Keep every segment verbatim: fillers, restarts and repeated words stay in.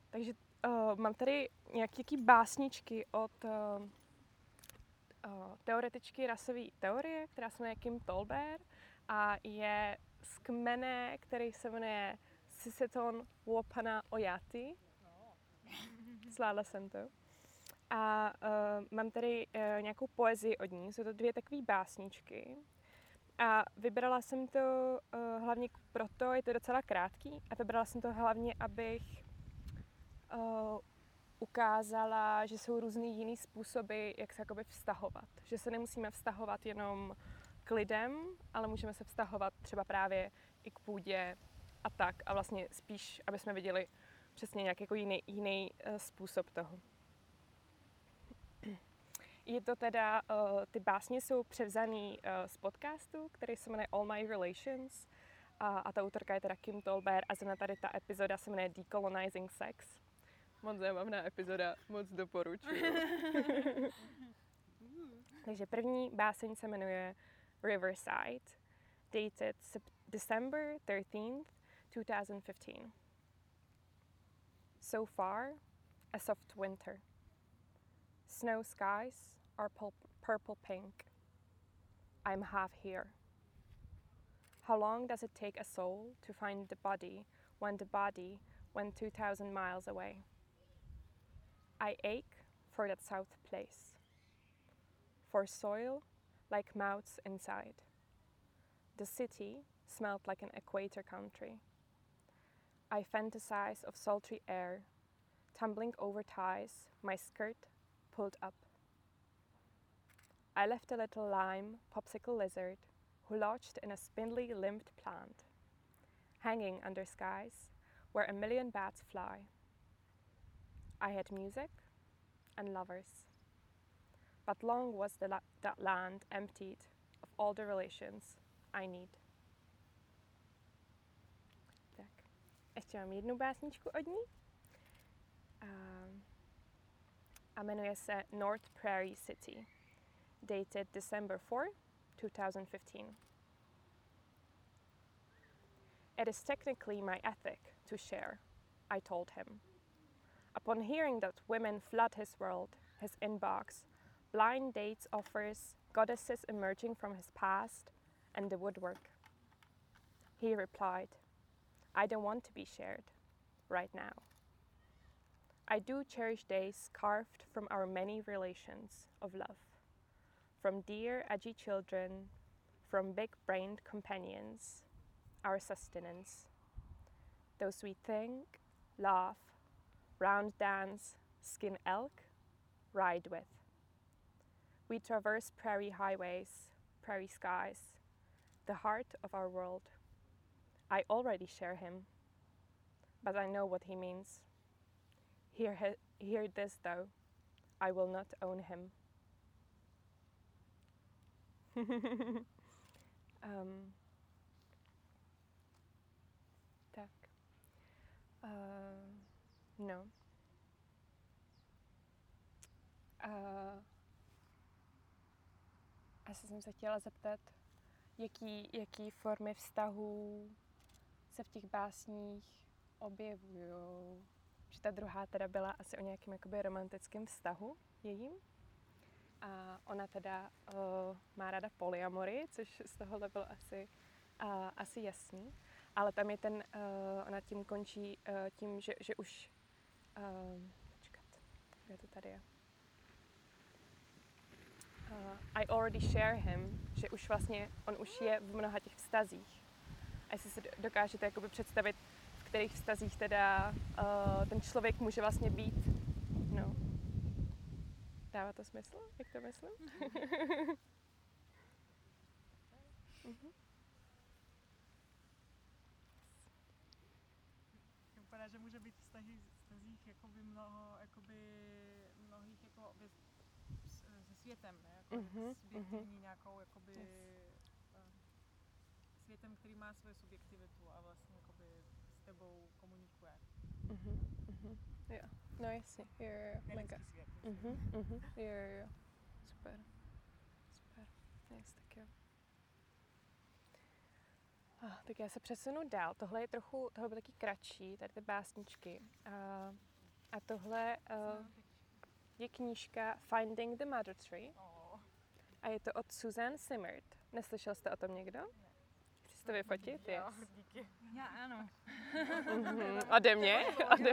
Takže uh, mám tady nějaké básničky od uh, uh, teoretičky rasové teorie, která se jmenuje Kim Tolbert a je z kmene, který se jmenuje Siseton Wopana Oyati. Zvládla jsem to. A uh, mám tady uh, nějakou poezii od ní, jsou to dvě takové básničky. A vybrala jsem to uh, hlavně proto, je to docela krátký, a vybrala jsem to hlavně, abych uh, ukázala, že jsou různý jiný způsoby, jak se jakoby vztahovat. Že se nemusíme vztahovat jenom k lidem, ale můžeme se vztahovat třeba právě i k půdě a tak. A vlastně spíš, aby jsme viděli přesně nějaký jako jiný, jiný uh, způsob toho. Je to teda, uh, ty básně jsou převzaný uh, z podcastu, který se jmenuje All My Relations a, a ta autorka je teda Kim Tolbert a zrovna tady ta epizoda se jmenuje Decolonizing Sex. Moc zábavná epizoda, moc doporučuji. Takže první báseň se jmenuje Riverside, dated December thirteenth, twenty fifteen. So far, a soft winter. Snow skies are purple pink. I'm half here. How long does it take a soul to find the body when the body went two thousand miles away? I ache for that south place, for soil like mouths inside. The city smelled like an equator country. I fantasize of sultry air, tumbling over ties, my skirt pulled up. I left a little lime popsicle lizard who lodged in a spindly limbed plant, hanging under skies where a million bats fly. I had music and lovers, but long was the la- that land emptied of all the relations I need. Tak, ještě mám jednu básničku od ní. Um, a jmenuje se North Prairie City, dated December fourth, twenty fifteen. It is technically my ethic to share, I told him. Upon hearing that women flood his world, his inbox, blind dates offers, goddesses emerging from his past, and the woodwork. He replied, I don't want to be shared, right now. I do cherish days carved from our many relations of love, from dear, edgy children, from big-brained companions, our sustenance. Those we think, laugh, round dance, skin elk, ride with. We traverse prairie highways, prairie skies, the heart of our world. I already share him, but I know what he means. Hear, he- hear this though, I will not own him. um, tak. Uh, no. Uh, asi jsem se chtěla zeptat, jaký, jaký formy vztahů se v těch básních objevují. Že ta druhá teda byla asi o nějakém jakoby romantickém vztahu jejím. A ona teda uh, má ráda polyamory, což z tohohle bylo asi, uh, asi jasný. Ale tam je ten, uh, ona tím končí uh, tím, že, že už... Uh, počkat, kde to tady je? Uh, I already share him, že už vlastně, on už je v mnoha těch vztazích. A jestli si dokážete jakoby představit, v kterých vztazích teda uh, ten člověk může vlastně být. No. Dává to smysl, jak to myslím? uh-huh. Vypadá, že může být vztahy, vztazích jakoby mnoho, jakoby mnohých jako věc, se světem, ne? Jako uh-huh. subjektivní uh-huh. nějakou jakoby yes. světem, který má svoji subjektivitu a vlastně jakoby s tebou komunikuje. Uh-huh. Uh-huh. Jo, no jasně, jo, jo, jo. Mega. Svět. Uh-huh. Uh-huh. Jo, jo, jo. Super. Super. Yes, tak jo. Ah, tak já se přesunu dál. Tohle je trochu, tohle bylo taky kratší, tady ty básničky. Uh, A tohle uh, je knížka Finding the Mother Tree. Oh. A je to od Suzanne Simard. Neslyšel jste o tom někdo? Chci to vyfotit? Jo, Yes. díky. Já ano. Mm-hmm. Ode mě? Ode...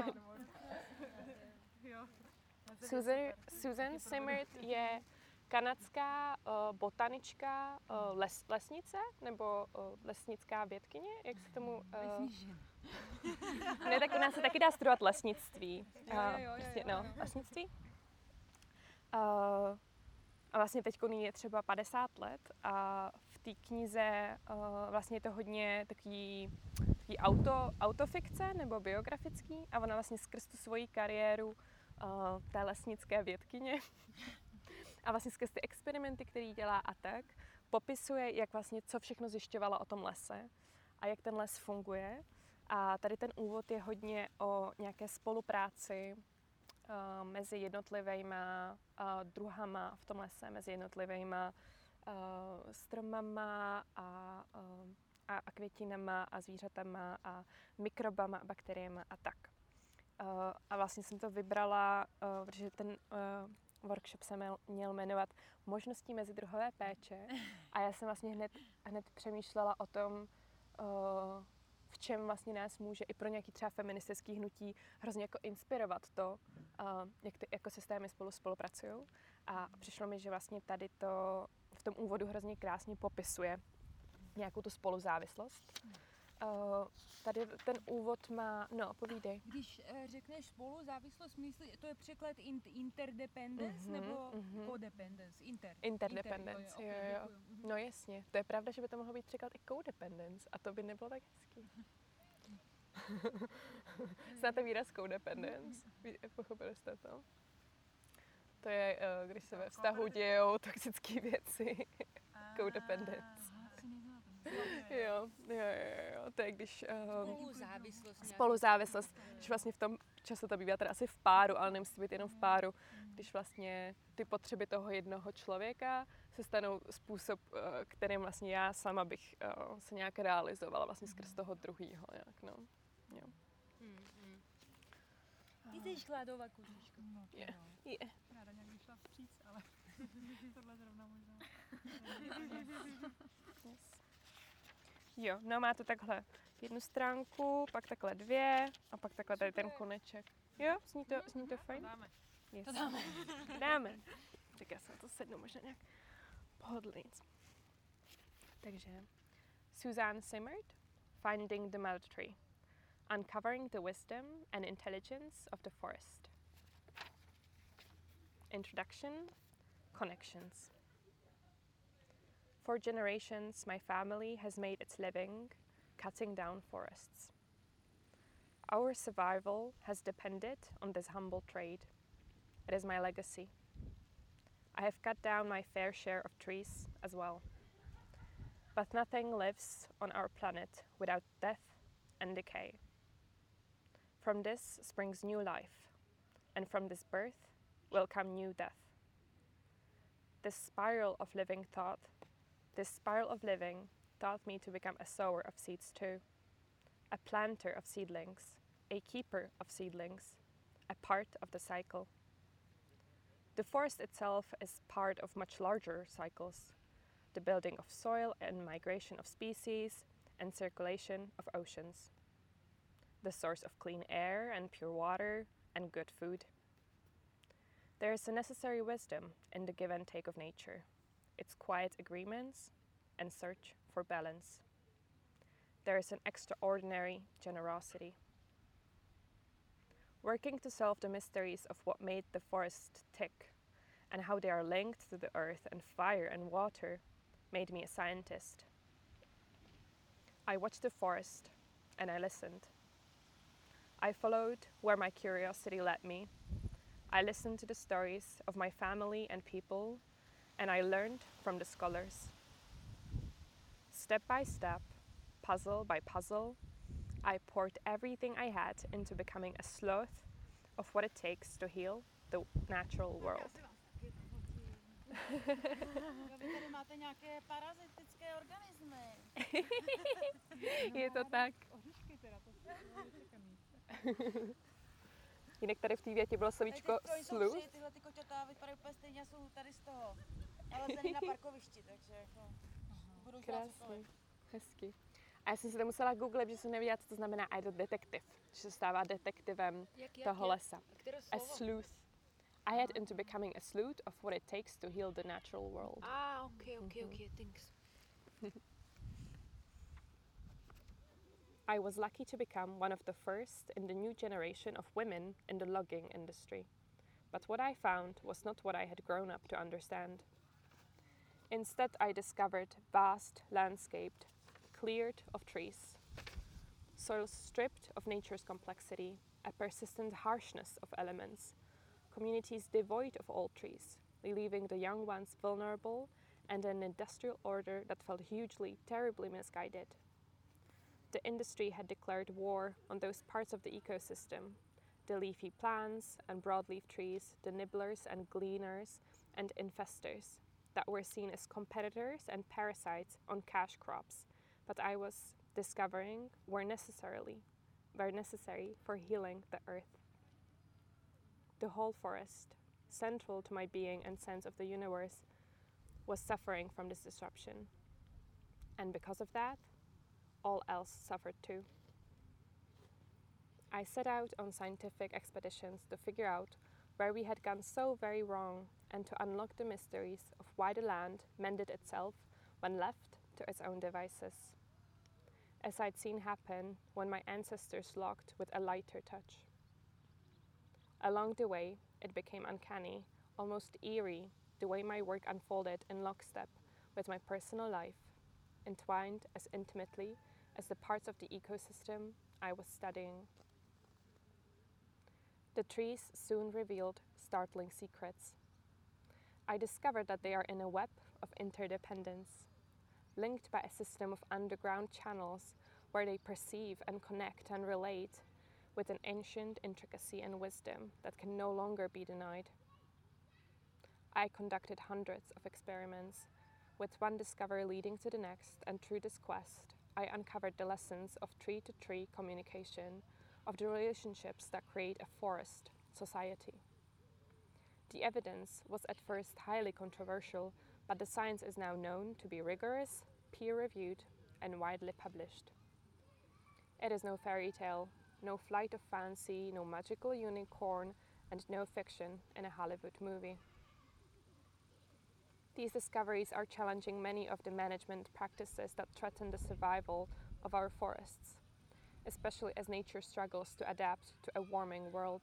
Jo. Susan, Susan Simard je kanadská uh, botanička, uh, les, lesnice, nebo uh, lesnická vědkyně, jak se tomu... Uh, ne, tak u nás se taky dá studovat lesnictví. Jo, jo, jo, prostě, jo, no, jo. lesnictví. Uh, a vlastně teď je třeba padesát let a v té knize uh, vlastně je to hodně takový, takový auto, autofikce nebo biografický a ona vlastně skrz tu svoji kariéru uh, té lesnické vědkyně a vlastně skrz ty experimenty, které dělá a tak, popisuje, jak vlastně co všechno zjišťovala o tom lese a jak ten les funguje. A tady ten úvod je hodně o nějaké spolupráci uh, mezi jednotlivýma uh, druhama v tom lese, mezi jednotlivýma uh, stromama a, uh, a, a květinama a zvířatama a mikrobama a bakteriemi a tak. Uh, a vlastně jsem to vybrala, uh, protože ten uh, workshop se měl, měl jmenovat Možností mezidruhové péče a já jsem vlastně hned, hned přemýšlela o tom, uh, v čem vlastně nás může i pro nějaký třeba feministický hnutí hrozně jako inspirovat to, uh, jak ty ekosystémy spolu spolupracují. A přišlo mi, že vlastně tady to v tom úvodu hrozně krásně popisuje nějakou tu spoluzávislost. Uh, tady ten úvod má, no, povídej. Když uh, řekneš spolu závislost, myslí, to je překlad in, interdependence Mhm, nebo mhm. codependence? Inter. Interdependence, Inter, jo, jo. okay, děkuju. Mhm. No jasně, to je pravda, že by to mohlo být překlad i codependence a to by nebylo tak hezký. Znáte výraz codependence? Ví- Pochopili jste to? To je, uh, když se ve vztahu dějou toxické věci. Codependence. Jo, jo, jo, jo, to je když... Uh, Spoluzávislost. nějaká. spoluzávislost, když vlastně v tom času to bývá teda asi v páru, ale nemusí být jenom v páru, když vlastně ty potřeby toho jednoho člověka se stanou způsob, uh, kterým vlastně já sama bych uh, se nějak realizovala vlastně skrz toho druhýho nějak, no. Jo. Mm, mm. Ty jsi chladová kožička. No, to Je. jo. Je. Ráda nějak vyšla vstříc, ale tohle zrovna možná. Yes. Jo, no má to takhle jednu stránku, pak takhle dvě a pak takhle tady ten koneček. Jo, zní to, zní to fajn? Dáme. Yes. To dáme. Dáme. Tak já se na to sednu možná nějak pohodlnějc. Takže Suzanne Simard, Finding the Mother Tree. Uncovering the wisdom and intelligence of the forest. Introduction, connections. For generations, my family has made its living cutting down forests. Our survival has depended on this humble trade. It is my legacy. I have cut down my fair share of trees as well. But nothing lives on our planet without death and decay. From this springs new life, and from this birth will come new death. This spiral of living thought, this spiral of living taught me to become a sower of seeds too, a planter of seedlings, a keeper of seedlings, a part of the cycle. The forest itself is part of much larger cycles, the building of soil and migration of species and circulation of oceans, the source of clean air and pure water and good food. There is a necessary wisdom in the give and take of nature, its quiet agreements and search for balance. There is an extraordinary generosity. Working to solve the mysteries of what made the forest tick and how they are linked to the earth and fire and water made me a scientist. I watched the forest and I listened. I followed where my curiosity led me. I listened to the stories of my family and people, and I learned from the scholars. Step by step, puzzle by puzzle, I poured everything I had into becoming a sloth of what it takes to heal the natural world. Vy tady máte nějaké parazitické organismy. Je to tak. Oříšky teda, to jsou čekaný. jinak tady v té větě bylo slovíčko sleuth. Tyhle ty koťata vypadají úplně stejně, jsou tady z toho nalezený na parkovišti, takže jako budou dělat cokoliv. Hezky. A já jsem si to musela googlit, že jsem nevěděla, co to znamená idle detektiv, že se stává detektivem Jak, jak, toho jak? lesa. Které A slovo? sleuth. I had into becoming a sleuth of what it takes to heal the natural world. Ah, ok, ok, ok, thanks. I was lucky to become one of the first in the new generation of women in the logging industry. But what I found was not what I had grown up to understand. Instead, I discovered vast landscape cleared of trees, soils stripped of nature's complexity, a persistent harshness of elements, communities devoid of old trees, leaving the young ones vulnerable, and an industrial order that felt hugely, terribly misguided. The industry had declared war on those parts of the ecosystem, the leafy plants and broadleaf trees, the nibblers and gleaners and infestors, that were seen as competitors and parasites on cash crops, but I was discovering were necessarily were necessary for healing the earth. The whole forest, central to my being and sense of the universe, was suffering from this disruption. And because of that, all else suffered too. I set out on scientific expeditions to figure out where we had gone so very wrong and to unlock the mysteries of why the land mended itself when left to its own devices, as I'd seen happen when my ancestors logged with a lighter touch. Along the way, it became uncanny, almost eerie, the way my work unfolded in lockstep with my personal life, entwined as intimately as the parts of the ecosystem I was studying. The trees soon revealed startling secrets. I discovered that they are in a web of interdependence, linked by a system of underground channels where they perceive and connect and relate with an ancient intricacy and wisdom that can no longer be denied. I conducted hundreds of experiments, with one discovery leading to the next, and through this quest, I uncovered the lessons of tree-to-tree communication, of the relationships that create a forest society. The evidence was at first highly controversial, but the science is now known to be rigorous, peer-reviewed, and widely published. It is no fairy tale, no flight of fancy, no magical unicorn, and no fiction in a Hollywood movie. These discoveries are challenging many of the management practices that threaten the survival of our forests, especially as nature struggles to adapt to a warming world.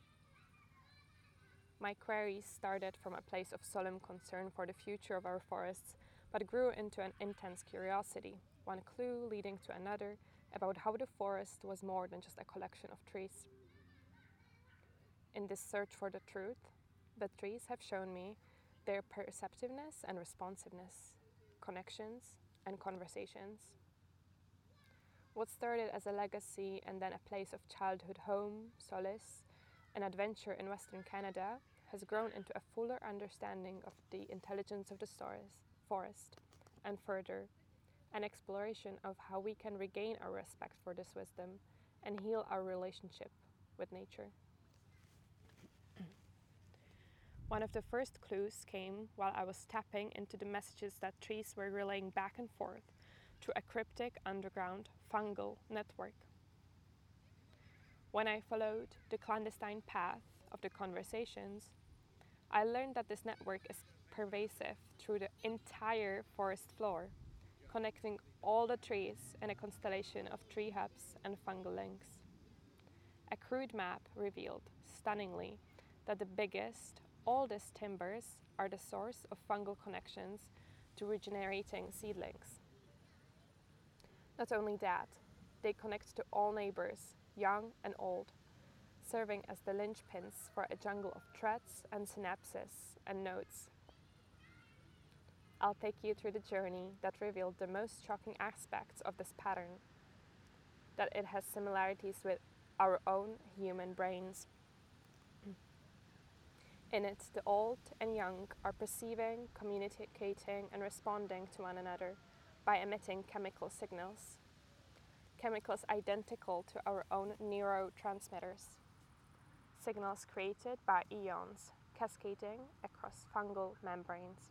My queries started from a place of solemn concern for the future of our forests, but grew into an intense curiosity, one clue leading to another, about how the forest was more than just a collection of trees. In this search for the truth, the trees have shown me their perceptiveness and responsiveness, connections and conversations. What started as a legacy and then a place of childhood home, solace, and adventure in Western Canada has grown into a fuller understanding of the intelligence of the stars, forest, and further, an exploration of how we can regain our respect for this wisdom and heal our relationship with nature. One of the first clues came while I was tapping into the messages that trees were relaying back and forth through a cryptic underground fungal network. When I followed the clandestine path of the conversations, I learned that this network is pervasive through the entire forest floor, connecting all the trees in a constellation of tree hubs and fungal links. A crude map revealed, stunningly, that the biggest, oldest timbers are the source of fungal connections to regenerating seedlings. Not only that, they connect to all neighbors, young and old, serving as the linchpins for a jungle of threads and synapses and nodes. I'll take you through the journey that revealed the most shocking aspects of this pattern, that it has similarities with our own human brains. In it, the old and young are perceiving, communicating, and responding to one another by emitting chemical signals, chemicals identical to our own neurotransmitters, signals created by eons, cascading across fungal membranes.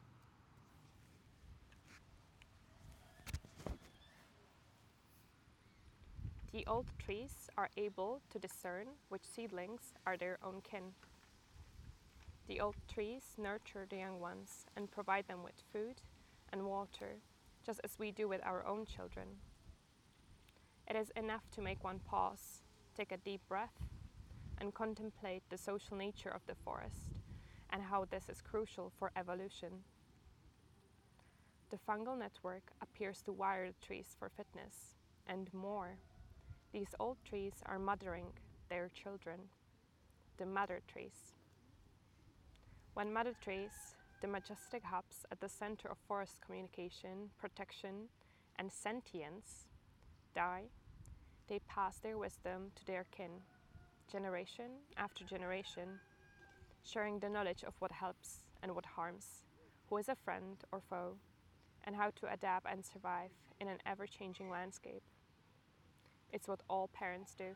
The old trees are able to discern which seedlings are their own kin. The old trees nurture the young ones and provide them with food and water, just as we do with our own children. It is enough to make one pause, take a deep breath, and contemplate the social nature of the forest and how this is crucial for evolution. The fungal network appears to wire the trees for fitness and more. These old trees are mothering their children, the mother trees. When mother trees, the majestic hubs at the center of forest communication, protection, and sentience, die, they pass their wisdom to their kin, generation after generation, sharing the knowledge of what helps and what harms, who is a friend or foe, and how to adapt and survive in an ever-changing landscape. It's what all parents do.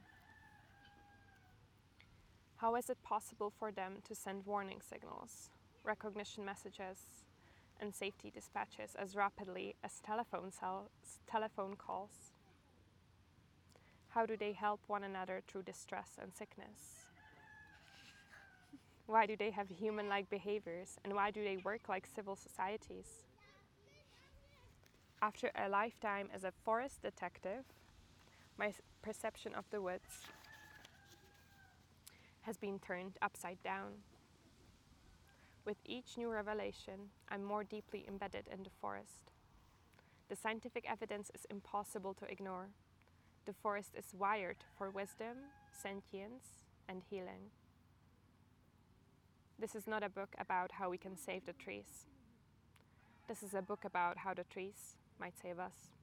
How is it possible for them to send warning signals, recognition messages, and safety dispatches as rapidly as telephone, cells, telephone calls? How do they help one another through distress and sickness? Why do they have human-like behaviors, and why do they work like civil societies? After a lifetime as a forest detective, my perception of the woods has been turned upside down. With each new revelation, I'm more deeply embedded in the forest. The scientific evidence is impossible to ignore. The forest is wired for wisdom, sentience, and healing. This is not a book about how we can save the trees. This is a book about how the trees might save us.